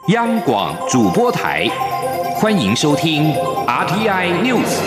央广主播台，欢迎收听 RTI News。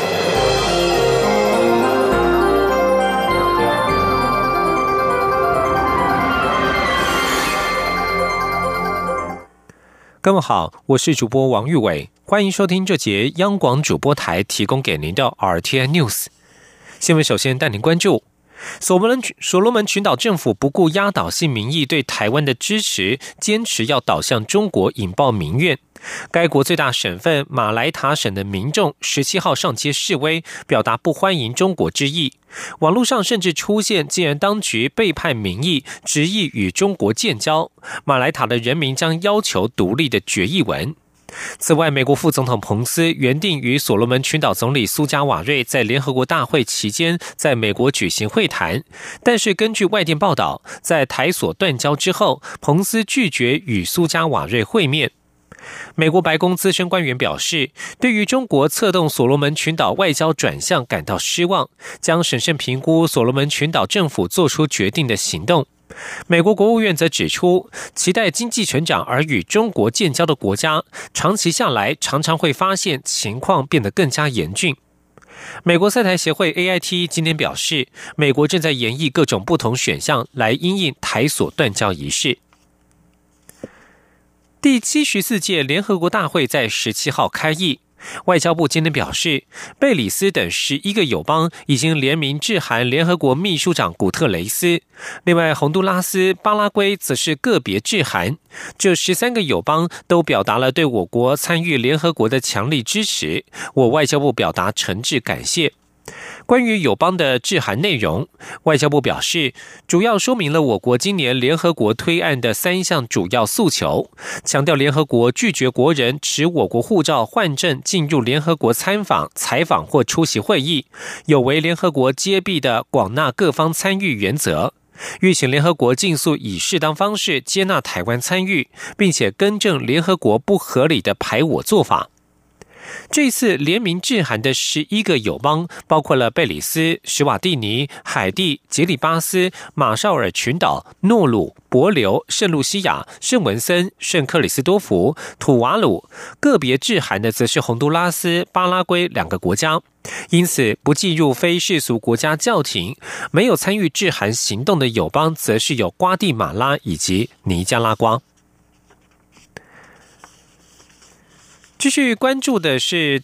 各位好，我是主播王玉伟，欢迎收听这节央广主播台提供给您的 RTI News 新闻。首先带您关注所罗门群岛政府不顾压倒性民意对台湾的支持，坚持要倒向中国，引爆民怨。该国最大省份马来塔省的民众17号上街示威，表达不欢迎中国之意。网络上甚至出现既然当局背叛民意，执意与中国建交，马来塔的人民将要求独立的决议文。此外，美国副总统彭斯原定与所罗门群岛总理苏加瓦瑞在联合国大会期间在美国举行会谈，但是根据外电报道，在台所断交之后，彭斯拒绝与苏加瓦瑞会面。美国白宫资深官员表示，对于中国策动所罗门群岛外交转向感到失望，将审慎评估所罗门群岛政府做出决定的行动。美国国务院则指出，期待经济成长而与中国建交的国家，长期下来常常会发现情况变得更加严峻。美国赛台协会 AIT 今天表示，美国正在研议各种不同选项来因应台所断交一事。第74届联合国大会在17号开议，外交部今天表示，贝里斯等11个友邦已经联名致函联合国秘书长古特雷斯，另外洪都拉斯、巴拉圭则是个别致函。这13个友邦都表达了对我国参与联合国的强力支持，我外交部表达诚挚感谢。关于友邦的致函内容，外交部表示，主要说明了我国今年联合国推案的3项主要诉求，强调联合国拒绝国人持我国护照换证进入联合国参访、采访或出席会议，有违联合国揭弊的广纳各方参与原则，吁请联合国尽速以适当方式接纳台湾参与，并且更正联合国不合理的排我做法。这次联名致函的11个友邦包括了贝里斯、史瓦蒂尼、海地、吉里巴斯、马绍尔群岛、诺鲁、帛琉、圣露西亚、圣文森、圣克里斯多福、土瓦鲁，个别致函的则是洪都拉斯、巴拉圭2个国家。因此，不计入非世俗国家教廷，没有参与致函行动的友邦则是有瓜地马拉以及尼加拉瓜。继续关注的是，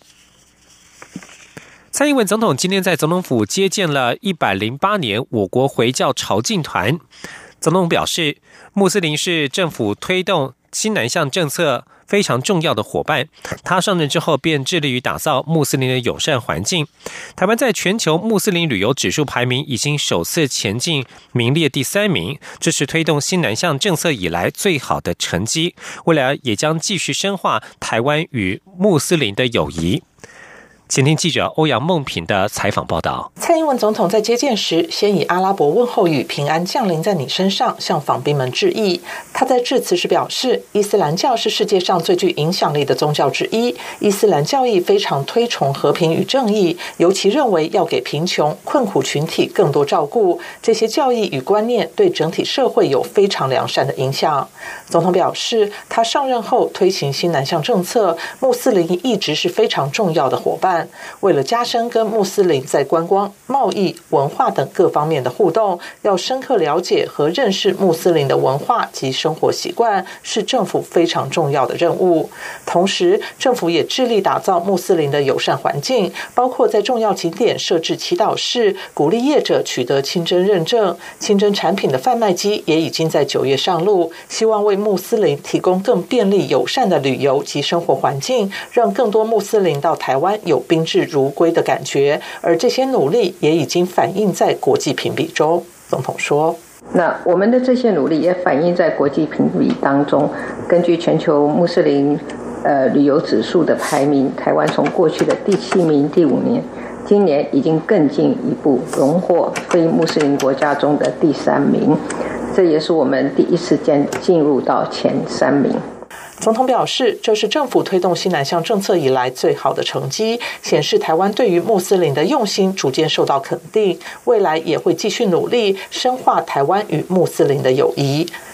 蔡英文总统今天在总统府接见了108年我国回教朝觐团。总统表示，穆斯林是政府推动新南向政策非常重要的伙伴，他上任之后便致力于打造穆斯林的友善环境。台湾在全球穆斯林旅游指数排名已经首次前进，名列第3名，这是推动新南向政策以来最好的成绩。未来也将继续深化台湾与穆斯林的友谊。前听记者欧阳梦平的采访报道。 蔡英文总统在接见时，先以阿拉伯问候语“平安降临在你身上”向访宾们致意。他在致辞时表示，伊斯兰教是世界上最具影响力的宗教之一，伊斯兰教义非常推崇和平与正义，尤其认为要给贫穷困苦群体更多照顾，这些教义与观念对整体社会有非常良善的影响。总统表示，他上任后推行新南向政策，穆斯林一直是非常重要的伙伴。为了加深跟穆斯林在观光、贸易、文化等各方面的互动，要深刻了解和认识穆斯林的文化及生活习惯，是政府非常重要的任务。同时，政府也致力打造穆斯林的友善环境，包括在重要景点设置祈祷室，鼓励业者取得清真认证。清真产品的贩卖机也已经在9月上路，希望为穆斯林提供更便利友善的旅游及生活环境，让更多穆斯林到台湾有宾至如归的感觉，而这些努力也已经反映在国际评比中。总统说， 那我们的这些努力也反映在国际评比当中。根据全球穆斯林旅游指数的排名，台湾从过去的第7名、第5年，今年已经更进一步荣获非穆斯林国家中的第3名，这也是我们第一次进入到前3名。 总统表示，这是政府推动新南向政策以来最好的成绩，显示台湾对于穆斯林的用心逐渐受到肯定，未来也会继续努力深化台湾与穆斯林的友谊。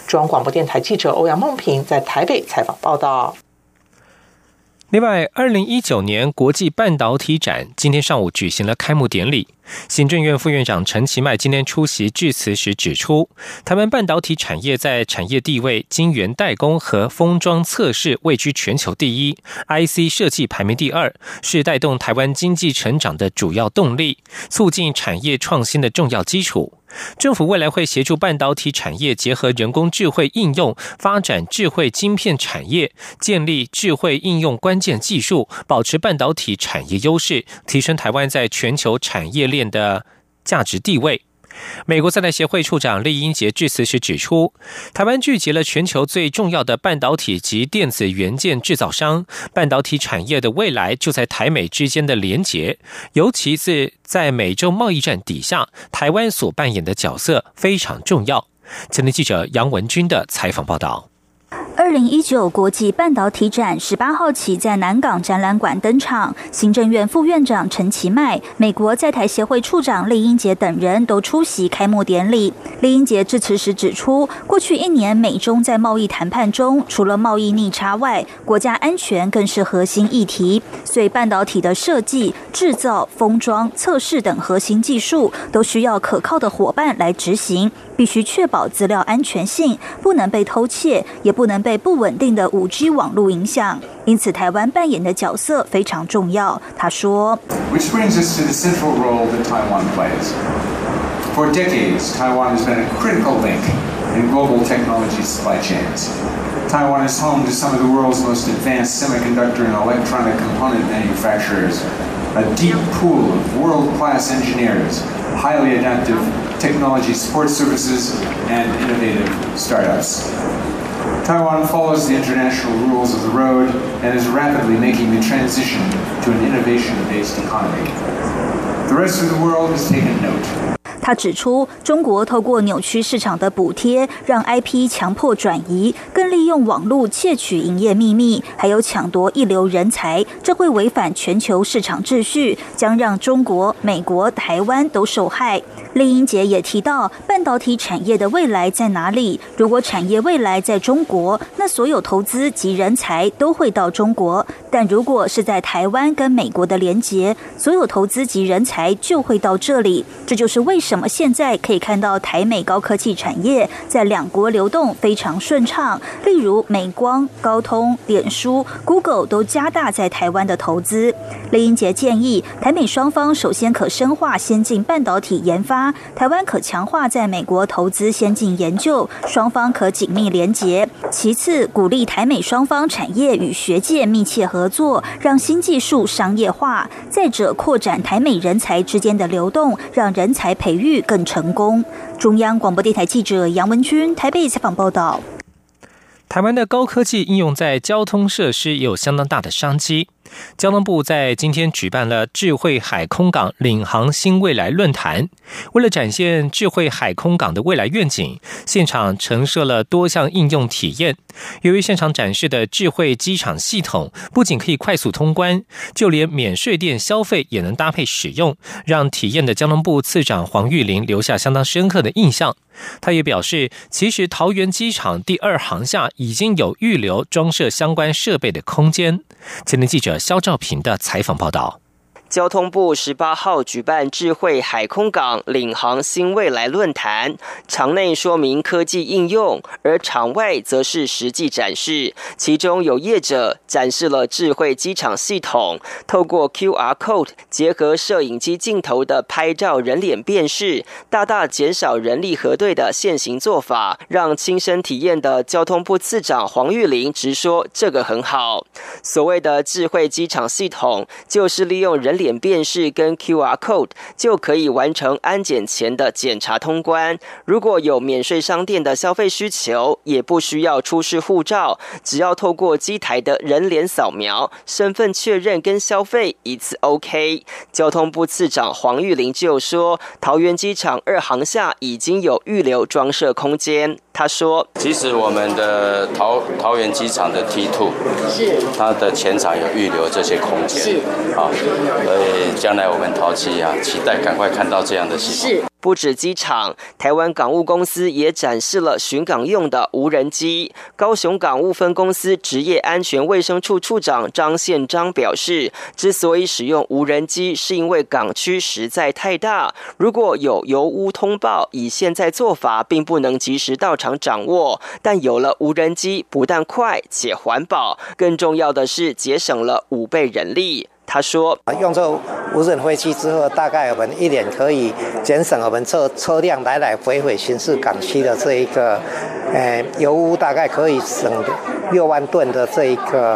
中央广播电台记者欧阳梦平在台北采访报道。 另外，2019年国际半导体展今天上午举行了开幕典礼。行政院副院长陈其迈今天出席致辞时指出，台湾半导体产业在产业地位、晶圆代工和封装测试位居全球第一 ，IC 设计排名第二，是带动台湾经济成长的主要动力，促进产业创新的重要基础。政府未来会协助半导体产业结合人工智慧应用，发展智慧晶片产业，建立智慧应用关键技术，保持半导体产业优势，提升台湾在全球产业链的价值地位。美国在台协会处长酈英杰致辞时指出，台湾聚集了全球最重要的半导体及电子元件制造商，半导体产业的未来就在台美之间的连结，尤其是在美洲贸易战底下，台湾所扮演的角色非常重要。前天记者杨文君的采访报道。 2019国际半导体展18号起在南港展览馆登场，行政院副院长陈其迈、美国在台协会处长酈英杰等人都出席开幕典礼。酈英杰致辞时指出，过去1年美中在贸易谈判中，除了贸易逆差外，国家安全更是核心议题，所以半导体的设计、制造、封装、测试等核心技术都需要可靠的伙伴来执行，必须确保资料安全性，不能被偷窃，也不能被不稳定的5G 网络影响，因此台湾扮演的角色非常重要。他说 Which brings us to the central role that Taiwan plays. For decades, Taiwan has been a critical link in global technology supply chains. Taiwan is home to some of the world's most advanced semiconductor and electronic component manufacturers, a deep pool of world-class engineers, highly adaptive technology support services, and innovative startups. Taiwan follows the international rules of the road and is rapidly making the transition to an innovation-based economy. The rest of the world has taken note. 他指出，中国透过扭曲市场的补贴，让 IP 强迫转移，更利用网络窃取营业秘密，还有抢夺一流人才，这会违反全球市场秩序，将让中国、美国、台湾都受害。酈英杰也提到，半导体产业的未来在哪里？如果产业未来在中国，那所有投资及人才都会到中国；但如果是在台湾跟美国的连结，所有投资及人才就会到这里。这就是为什么现在可以看到台美高科技产业在两国流动非常顺畅。例如美光、高通、脸书、Google 都加大在台湾的投资。酈英杰建议，台美双方首先可深化先进半导体研发，台湾可强化在美国投资先进研究，双方可紧密连结。其次，鼓励台美双方产业与学界密切合作，让新技术商业化。再者，扩展台美人才之间的流动，让人才培育更成功。中央广播电台记者杨文君台北采访报道。 台湾的高科技应用在交通设施也有相当大的商机。交通部在今天举办了智慧海空港领航新未来论坛，为了展现智慧海空港的未来愿景，现场陈设了多项应用体验。由于现场展示的智慧机场系统不仅可以快速通关，就连免税店消费也能搭配使用，让体验的交通部次长黄玉玲留下相当深刻的印象。他也表示，其实桃园机场第2航厦已经有预留装设相关设备的空间。前天记者肖兆平的采访报道。 交通部18号举办智慧海空港领航新未来论坛，场内说明科技应用，而场外则是实际展示。其中有业者展示了智慧机场系统，透过 QR Code 结合摄影机镜头的拍照人脸辨识，大大减少人力核对的现行做法，让亲身体验的交通部次长黄玉玲直说这个很好。所谓的智慧机场系统，就是利用人脸辨识跟 QR Code 就可以完成安检前的检查通关。如果有免税商店的消费需求，也不需要出示护照，只要透过机台的人脸扫描、身份确认跟消费一次 OK。交通部次长黄玉玲就说，桃园机场2航厦已经有预留装设空间。他说， 其实我们的桃园机场的 T2 是它的前场有预留这些空间，是啊，所以将来我们桃机期待赶快看到这样的系统。是。 不止机场，台湾港务公司也展示了巡港用的无人机。高雄港务分公司职业安全卫生处处长张宪章表示，之所以使用无人机，是因为港区实在太大，如果有油污通报，以现在做法并不能及时到场掌握，但有了无人机，不但快且环保，更重要的是节省了5倍人力。他说， 用这无人飞机之后，大概我们1年可以减省我们车辆来来回回巡视港区的这一个油污，大概可以省6万吨的这一个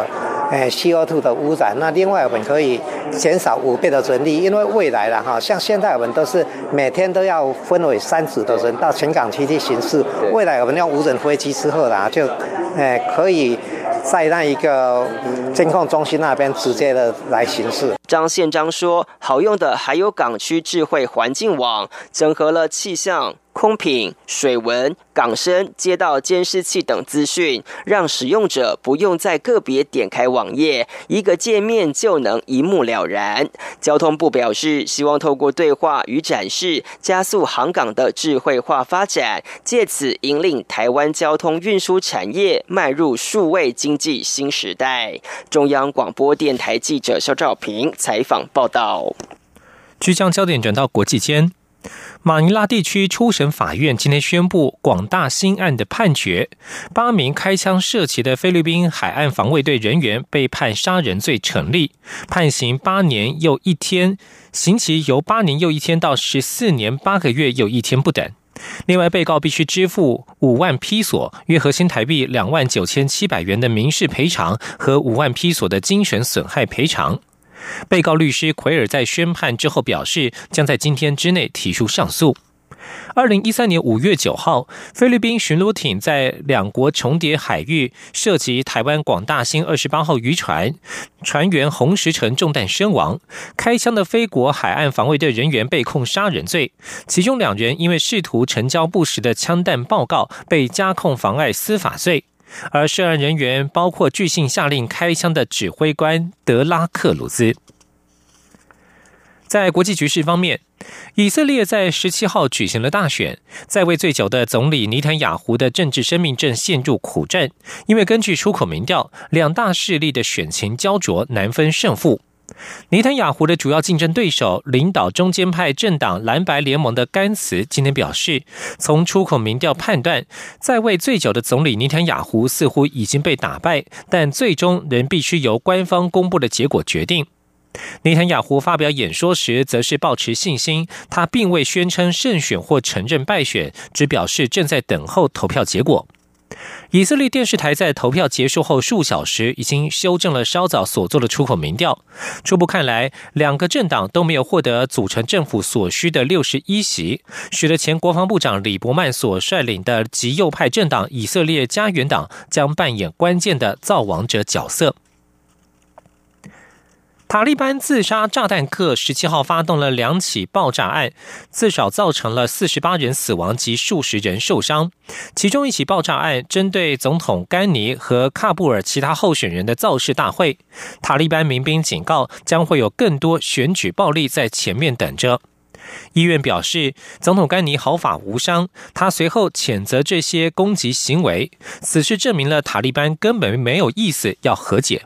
CO2 的污染。那另外我们可以减少5倍的人力，因为未来了像现在我们都是每天都要分为3组的人到全港区去巡视，未来我们用无人飞机之后就可以在那一个监控中心那边直接的来行事。 张宪章说，好用的还有港区智慧环境网，整合了气象、空品、水文、港深、街道监视器等资讯，让使用者不用在个别点开网页，一个界面就能一目了然。交通部表示，希望透过对话与展示，加速航港的智慧化发展，借此引领台湾交通运输产业迈入数位经济新时代。中央广播电台记者肖兆平采访报道。 据将焦点转到国际间，马尼拉地区初审法院今天宣布广大兴案的判决，8名开枪射击的菲律宾海岸防卫队人员被判杀人罪成立，判刑8年又1天，刑期由8年又1天到14年8个月又1天不等。另外，被告必须支付5万披索，约合新台币29700元的民事赔偿和5万披索的精神损害赔偿。被告律师奎尔在宣判之后表示，将在今天之内提出上诉。2013年5月9号，菲律宾巡逻艇在两国重叠海域涉及台湾广大兴28号渔船，船员洪时成中弹身亡。开枪的菲国海岸防卫队人员被控杀人罪，其中2人因为试图成交不实的枪弹报告，被加控妨碍司法罪。而涉案人员包括据信下令开枪的指挥官德拉克鲁兹。在国际局势方面，以色列在17号举行了大选，在位最久的总理尼坦雅胡的政治生命正陷入苦战，因为根据出口民调，两大势力的选情焦灼，难分胜负。尼坦雅胡的主要竞争对手，领导中间派政党蓝白联盟的甘茨今天表示，从出口民调判断，在位最久的总理尼坦雅胡似乎已经被打败，但最终仍必须由官方公布的结果决定。尼坦雅胡发表演说时则是抱持信心，他并未宣称胜选或承认败选，只表示正在等候投票结果。以色列电视台在投票结束后数小时已经修正了稍早所做的出口民调，初步看来，两个政党都没有获得组成政府所需的61席，使得前国防部长李伯曼所率领的极右派政党以色列家园党将扮演关键的造王者角色。塔利班自杀炸弹客17号发动了2起爆炸案，至少造成了48人死亡及数十人受伤。其中一起爆炸案针对总统甘尼和喀布尔其他候选人的造势大会，塔利班民兵警告将会有更多选举暴力在前面等着。医院表示，总统甘尼毫发无伤，他随后谴责这些攻击行为，此事证明了塔利班根本没有意思要和解。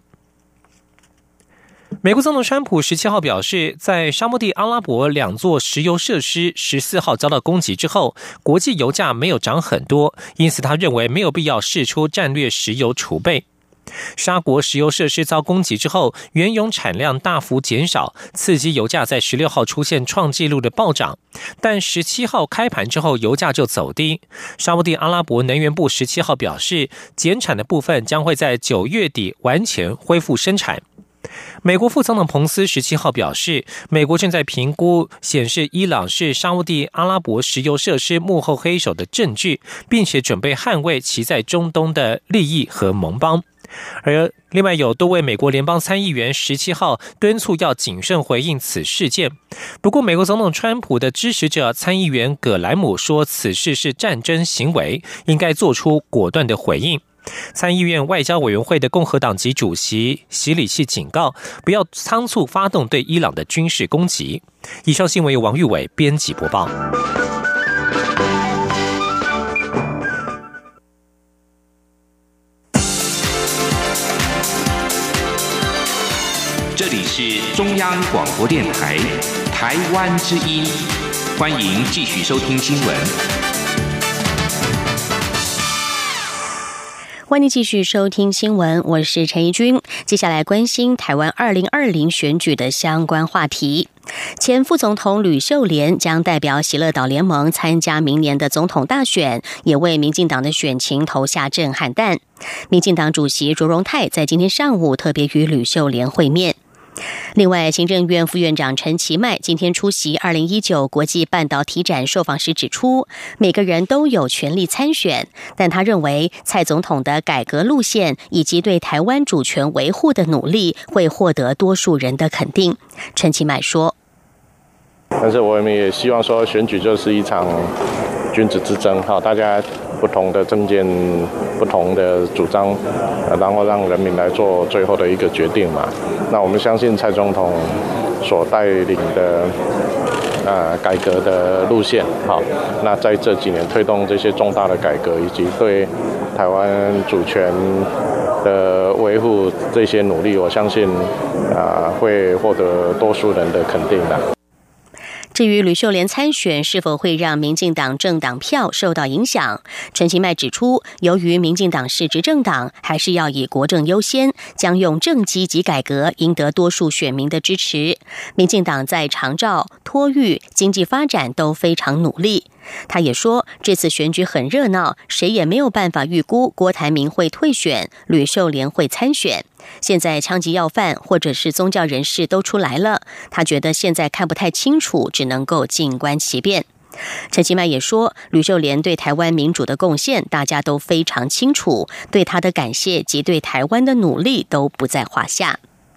美国总统川普17号表示，在沙漠地阿拉伯2座石油设施14号遭到攻击之后，国际油价没有涨很多，因此他认为没有必要释出战略石油储备。沙国石油设施遭攻击之后，原油产量大幅减少，刺激油价在16号出现创纪录的暴涨，但17号开盘之后油价就走低。沙特阿拉伯能源部17号表示，减产的部分将会在9月底完全恢复生产。美国副总统彭斯17号表示，美国正在评估显示伊朗是沙烏地阿拉伯石油设施幕后黑手的证据，并且准备捍卫其在中东的利益和盟邦。而另外有多位美国联邦参议员17号敦促要谨慎回应此事件。不过，美国总统川普的支持者参议员葛莱姆说，此事是战争行为，应该做出果断的回应。参议院外交委员会的共和党籍主席席里奇警告，不要仓促发动对伊朗的军事攻击。以上新闻由王玉伟编辑播报。 这里是中央广播电台台湾之音，欢迎继续收听新闻。 欢迎继续收听新闻，我是陈怡君。接下来关心台湾2020选举的相关话题。前副总统吕秀莲将代表喜乐岛联盟参加明年的总统大选，也为民进党的选情投下震撼弹。民进党主席卓荣泰在今天上午特别与吕秀莲会面。另外，行政院副院长陈其迈今天出席2019国际半导体展受访时指出，每个人都有权利参选，但他认为蔡总统的改革路线以及对台湾主权维护的努力会获得多数人的肯定。陈其迈说， 但是我们也希望说，选举就是一场君子之争，大家不同的政见、不同的主张，然后让人民来做最后的一个决定嘛。那我们相信蔡总统所带领的改革的路线，那在这几年推动这些重大的改革，以及对台湾主权的维护这些努力，我相信会获得多数人的肯定的。 至于吕秀莲参选是否会让民进党政党票受到影响，陈其迈指出，由于民进党是执政党，还是要以国政优先，将用政绩及改革赢得多数选民的支持。民进党在长照、托育、经济发展都非常努力。他也说，这次选举很热闹，谁也没有办法预估郭台铭会退选，吕秀莲会参选。现在枪击要犯或者是宗教人士都出来了，他觉得现在看不太清楚，只能够静观其变。陈其迈也说，吕秀莲对台湾民主的贡献大家都非常清楚，对他的感谢及对台湾的努力都不在话下。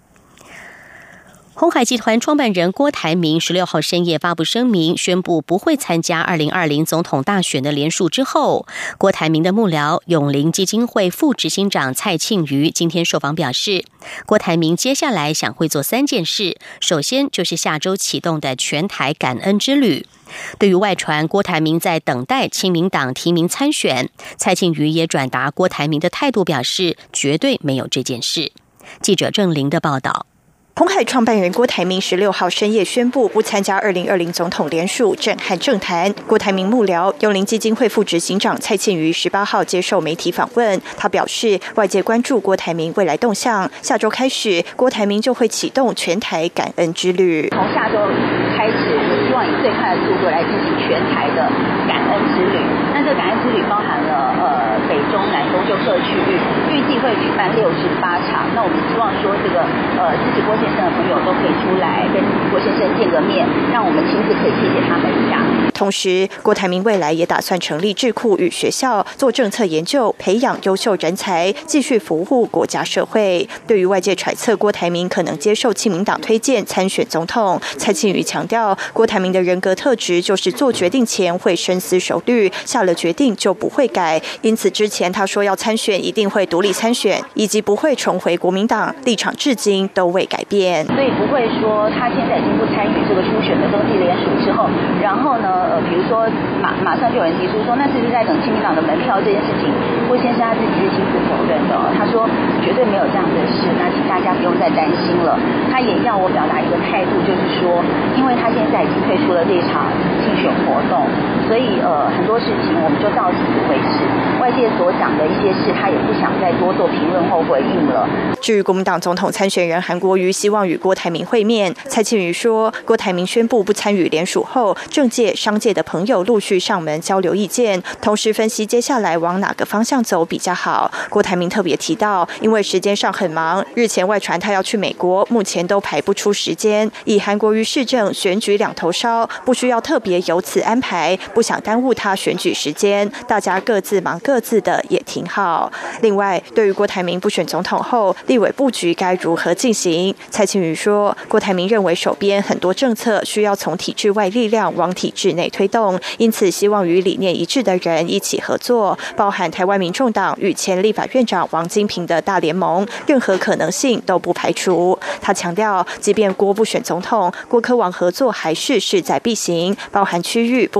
鸿海集团创办人郭台铭16号深夜发布声明，宣布不会参加2020总统大选的联署之后，郭台铭的幕僚永龄基金会副执行长蔡庆瑜今天受访表示，郭台铭接下来想会做3件事，首先就是下周启动的全台感恩之旅。对于外传郭台铭在等待亲民党提名参选，蔡庆瑜也转达郭台铭的态度，表示绝对没有这件事。记者郑玲的报道。 鸿海创办人郭台铭16号深夜宣布不参加2020总统联署，震撼政坛。郭台铭幕僚永龄基金会副执行长蔡庆瑜18号接受媒体访问，他表示，外界关注郭台铭未来动向，下周开始，郭台铭就会启动全台感恩之旅。 从下周开始，希望以最快的速度来进行全台的感恩之旅。那这个感恩之旅包含了北中南东就各区域，预计会举办68场。那我们希望说，这个支持郭先生的朋友都可以出来跟郭先生见个面，让我们亲自可以谢谢他们一下。 同时，郭台铭未来也打算成立智库与学校，做政策研究，培养优秀人才，继续服务国家社会。对于外界揣测郭台铭可能接受亲民党推荐参选总统，蔡庆瑜强调，郭台铭的人格特质就是做决定前会深思熟虑，下了决定就不会改。因此之前他说要参选一定会独立参选，以及不会重回国民党，立场至今都未改变。 所以不会说他现在已经不参与这个初选的登记联署之后，然后呢比如说马上就有人提出说，那是不是在等亲民党的门票这件事情，郭先生他自己是亲自否认的他说绝对没有这样的事，那请大家不用再担心了。他也要我表达一个态度，就是说，因为他现在已经退出了这场竞选活动，所以很多事情我们就到此为止。外界所讲的一些事，他也不想再多做评论或回应了。 至于国民党总统参选人韩国瑜希望与郭台铭会面，蔡庆瑜说，郭台铭宣布不参与联署后，政界、商界的朋友陆续上门交流意见，同时分析接下来往哪个方向走比较好。郭台铭特别提到，因为时间上很忙，日前外传他要去美国，目前都排不出时间。以韩国瑜市政选举两头烧，不需要特别由此安排，不想耽误他选举时间，大家各自忙各自的也挺好。另外，对于郭台铭不选总统后，立委布局该如何进行？蔡庆瑜说，郭台铭认为手边很多政策需要从体制外力量往体制内推动，因此希望与理念一致的人一起合作，包含台湾民众党与前立法院长王金平的大联盟，任何可能性都不排除。他强调，即便郭不选总统，郭柯王合作还是势在必行，包含区域不分区立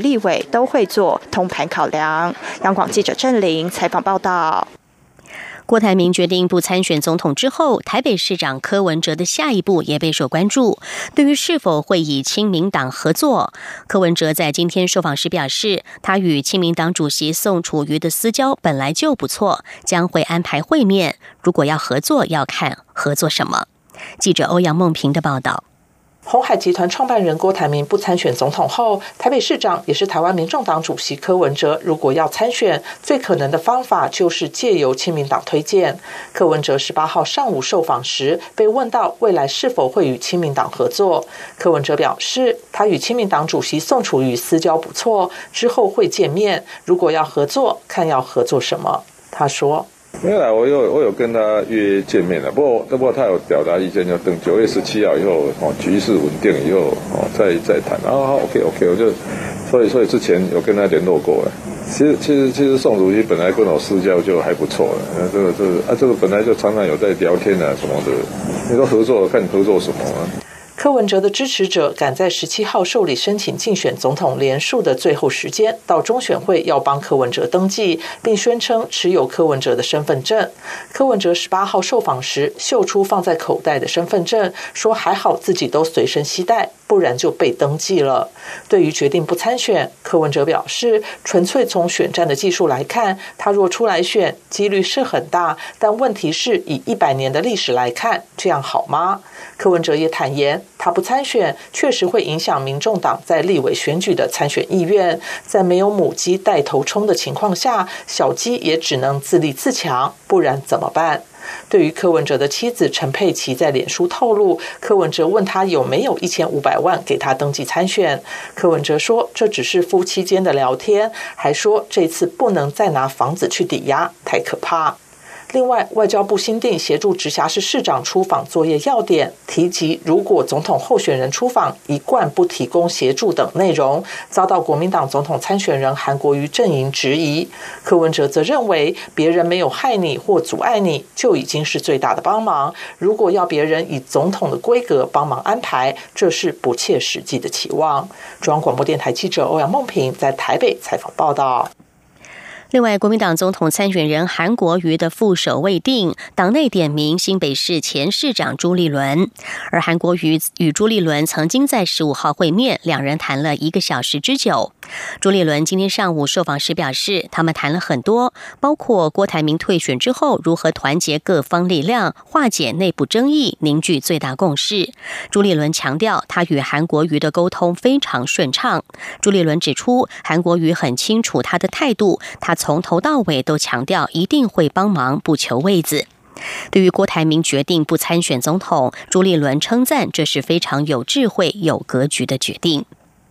立委都会做通盘考量。央广记者郑玲采访报道。 郭台铭决定不参选总统之后，台北市长柯文哲的下一步也备受关注。对于是否会以亲民党合作，柯文哲在今天受访时表示，他与亲民党主席宋楚瑜的私交本来就不错，将会安排会面。如果要合作，要看合作什么。记者欧阳梦平的报道。 鸿海集团创办人郭台铭不参选总统后，台北市长也是台湾民众党主席柯文哲，如果要参选，最可能的方法就是借由亲民党推荐。柯文哲18号上午受访时被问到未来是否会与亲民党合作，柯文哲表示，他与亲民党主席宋楚瑜私交不错，之后会见面，如果要合作，看要合作什么。他说。 没有啦，我有跟他约见面了，不过他有表达意见，要等9月17号以后，局势稳定以后，再谈。OK， 我就，所以之前有跟他联络过了。其实宋主席本来跟我私交就还不错了，这个本来就常常有在聊天啊什么的。你说合作，看合作什么啊？ 柯文哲的支持者赶在17号受理申请竞选总统连署的最后时间，到中选会要帮柯文哲登记，并宣称持有柯文哲的身份证。柯文哲18号受访时秀出放在口袋的身份证，说还好自己都随身携带，不然就被登记了。对于决定不参选，柯文哲表示，纯粹从选战的技术来看，他若出来选，几率是很大，但问题是以100年的历史来看，这样好吗？柯文哲也坦言，他不参选确实会影响民众党在立委选举的参选意愿，在没有母鸡带头冲的情况下，小鸡也只能自立自强，不然怎么办？对于柯文哲的妻子陈佩琪在脸书透露，柯文哲问他有没有1500万给他登记参选，柯文哲说这只是夫妻间的聊天，还说这次不能再拿房子去抵押，太可怕。另外，外交部新定协助直辖市市长出访作业要点，提及如果总统候选人出访一贯不提供协助等内容，遭到国民党总统参选人韩国瑜阵营质疑。柯文哲则认为，别人没有害你或阻碍你，就已经是最大的帮忙。如果要别人以总统的规格帮忙安排，这是不切实际的期望。中央广播电台记者欧阳梦平在台北采访报道。 另外，国民党总统参选人韩国瑜的副手未定，党内点名新北市前市长朱立伦，而韩国瑜与朱立伦曾经在15号会面，两人谈了1个小时之久。朱立伦今天上午受访时表示，他们谈了很多，包括郭台铭退选之后如何团结各方力量，化解内部争议，凝聚最大共识。朱立伦强调，他与韩国瑜的沟通非常顺畅。朱立伦指出，韩国瑜很清楚他的态度，他从头到尾都强调一定会帮忙，不求位子。对于郭台铭决定不参选总统，朱立伦称赞这是非常有智慧、有格局的决定。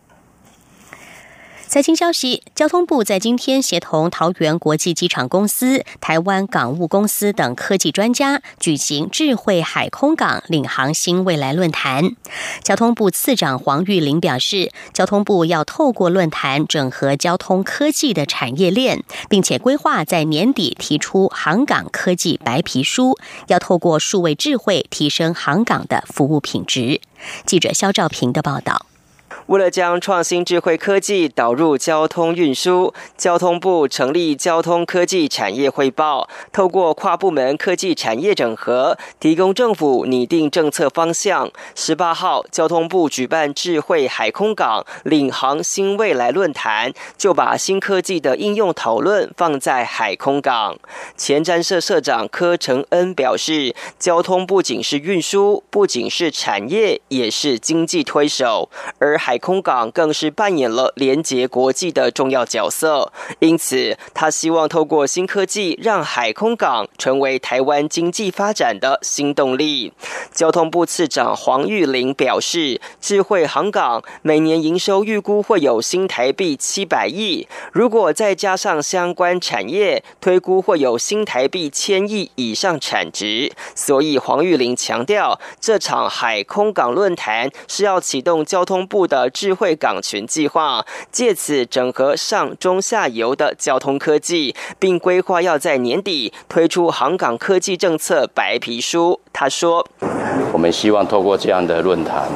财经消息，交通部在今天协同桃园国际机场公司、台湾港务公司等科技专家举行智慧海空港领航新未来论坛。交通部次长黄玉玲表示，交通部要透过论坛整合交通科技的产业链，并且规划在年底提出航港科技白皮书，要透过数位智慧提升航港的服务品质。记者肖兆平的报道。 为了将创新智慧科技导入交通运输，交通部成立交通科技产业汇报，透过跨部门科技产业整合，提供政府拟定政策方向。18号，交通部举办智慧海空港领航新未来论坛，就把新科技的应用讨论放在海空港。前瞻社社长柯承恩表示，交通不仅是运输，不仅是产业，也是经济推手，而海空港更是扮演了连结国际的重要角色，因此他希望透过新科技让海空港成为台湾经济发展的新动力。交通部次长黄玉玲表示，智慧航港每年营收预估会有新台币700亿，如果再加上相关产业，推估会有新台币1000亿以上产值。所以黄玉玲强调，这场海空港论坛是要启动交通部的智慧港群计划，借此整合上中下游的交通科技，并规划要在年底推出航港科技政策白皮书。他说， 我们希望透过这样的论坛，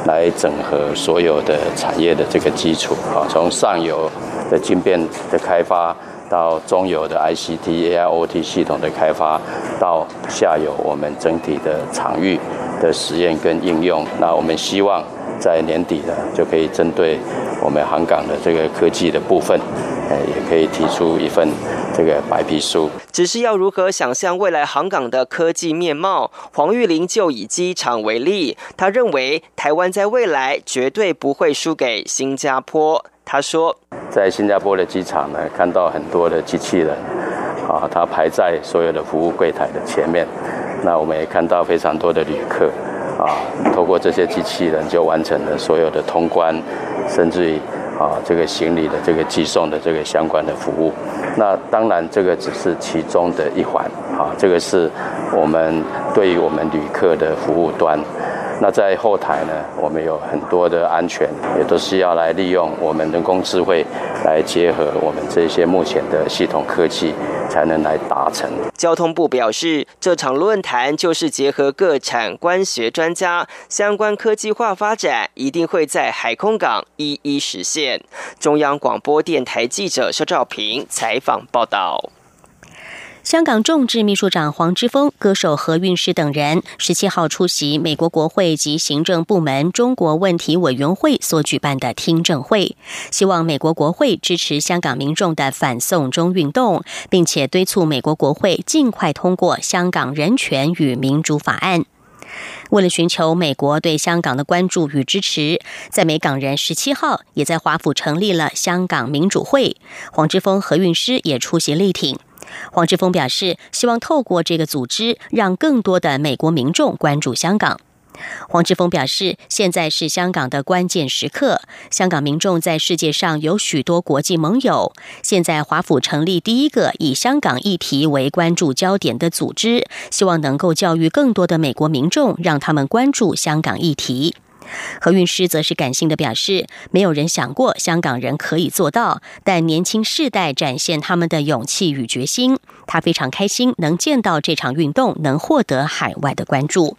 来整合所有的产业的这个基础啊，从上游的晶片的开发，到中游的 ICT、AIoT 系统的开发，到下游我们整体的场域的实验跟应用。那我们希望在年底呢，就可以针对我们航港的这个科技的部分，也可以提出一份这个白皮书。 只是要如何想象未来航港的科技面貌，黄玉玲就以机场为例，他认为台湾在未来绝对不会输给新加坡。他说， 在新加坡的机场呢，看到很多的机器人，它排在所有的服务柜台的前面。那我们也看到非常多的旅客，透过这些机器人就完成了所有的通关，甚至于这个行李的这个寄送的这个相关的服务。那当然这个只是其中的一环，这个是我们对于我们旅客的服务端。那在后台呢，我们有很多的安全，也都是要来利用我们人工智慧来结合我们这些目前的系统科技，才能来达成。 交通部表示，这场论坛就是结合各产官学专家，相关科技化发展一定会在海空港一一实现。中央广播电台记者肖兆平采访报道。 香港众志秘书长黄之锋、歌手何韵诗等人17号出席美国国会及行政部门中国问题委员会所举办的听证会，希望美国国会支持香港民众的反送中运动，并且敦促美国国会尽快通过香港人权与民主法案。为了寻求美国对香港的关注与支持，在美港人17号也在华府成立了香港民主会，黄之锋、何韵诗也出席力挺。黄之锋表示，希望透过这个组织，让更多的美国民众关注香港。黄之锋表示，现在是香港的关键时刻，香港民众在世界上有许多国际盟友，现在华府成立第一个以香港议题为关注焦点的组织，希望能够教育更多的美国民众，让他们关注香港议题。何韵诗则是感性的表示，没有人想过香港人可以做到，但年轻世代展现他们的勇气与决心，他非常开心能见到这场运动能获得海外的关注。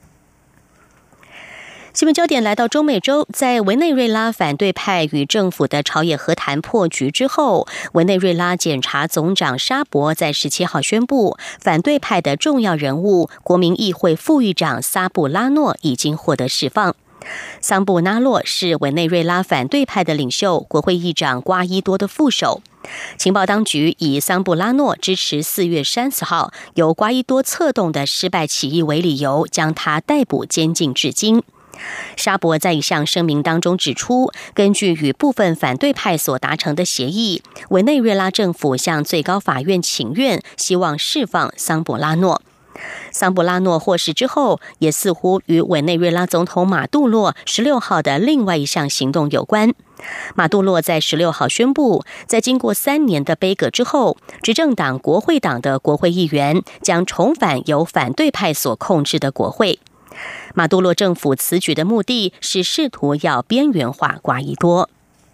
新闻焦点来到中美洲，在委内瑞拉反对派与政府的朝野和谈破局之后，委内瑞拉检察总长沙博在17号宣布，反对派的重要人物国民议会副议长萨布拉诺已经获得释放。桑布拉诺是委内瑞拉反对派的领袖，国会议长瓜伊多的副手。情报当局以桑布拉诺支持4月30号由瓜伊多策动的失败起义为理由，将他逮捕监禁至今。沙博在一项声明当中指出，根据与部分反对派所达成的协议，委内瑞拉政府向最高法院请愿，希望释放桑布拉诺。桑布拉诺获释之后，也似乎与委内瑞拉总统马杜洛16号的另外一项行动有关。马杜洛在16号宣布，在经过3年的杯葛之后，执政党国会党的国会议员将重返由反对派所控制的国会。马杜洛政府此举的目的是试图要边缘化瓜伊多。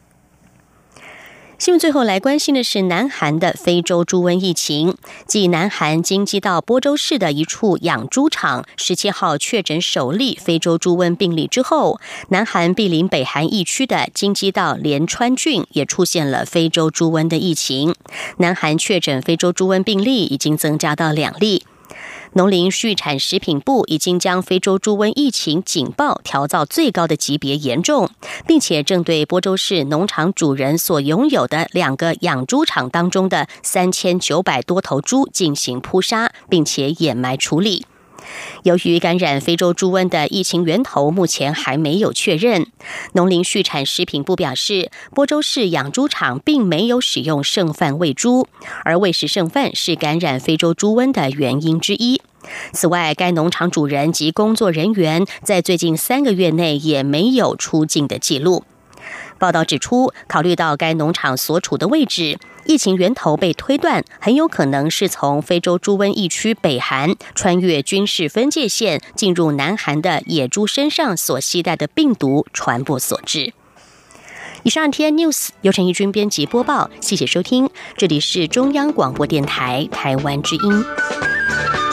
新闻最后来关心的是南韩的非洲猪瘟疫情。继南韩京畿道播州市的一处养猪场17号确诊首例非洲猪瘟病例之后，南韩毗邻北韩疫区的京畿道连川郡也出现了非洲猪瘟的疫情。南韩确诊非洲猪瘟病例已经增加到2例。农林畜产食品部已经将非洲猪瘟疫情警报调到最高的级别严重，并且正对播州市农场主人所拥有的2个养猪场当中的3900多头猪进行扑杀，并且掩埋处理。由于感染非洲猪瘟的疫情源头目前还没有确认，农林畜产食品部表示，播州市养猪场并没有使用剩饭喂猪，而喂食剩饭是感染非洲猪瘟的原因之一。此外，该农场主人及工作人员在最近3个月内也没有出境的记录。报道指出，考虑到该农场所处的位置，疫情源头被推断很有可能是从非洲猪瘟疫区北韩穿越军事分界线进入南韩的野猪身上所携带的病毒传播所致。以上 TN News 由陈怡君编辑播报，谢谢收听，这里是中央广播电台台湾之音。